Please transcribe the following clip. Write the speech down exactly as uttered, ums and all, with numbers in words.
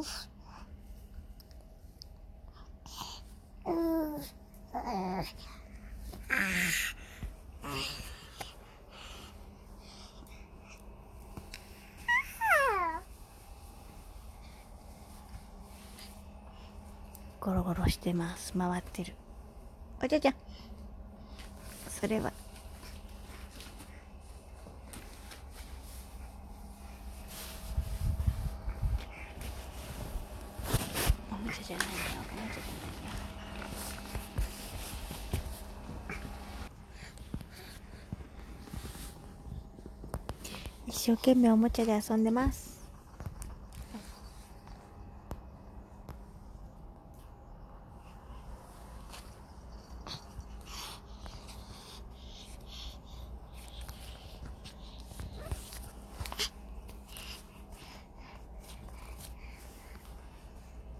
ゴロゴロしてます。回ってる。おじゃじゃ。それは。おもちゃじゃないよ。おもちゃじゃないよ。一生懸命おもちゃで遊んでます。